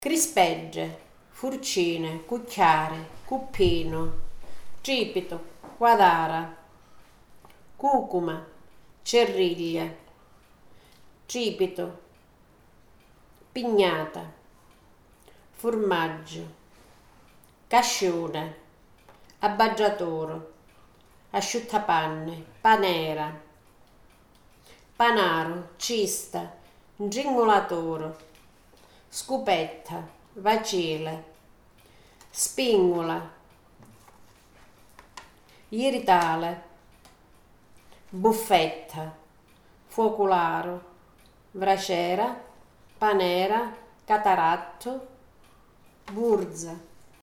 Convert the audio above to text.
crispegge, furcine, cucchiare, cuppino, cipito, quadara, cucuma, cerriglie, cipito, pignata, formaggio, cascione, abbaggiatoro, asciuttapanne, panera, panaro, cista, ingingolatore, scupetta, vacile, spingola, iritale, buffetta, focolaro, braciera, panera, cataratto, burza.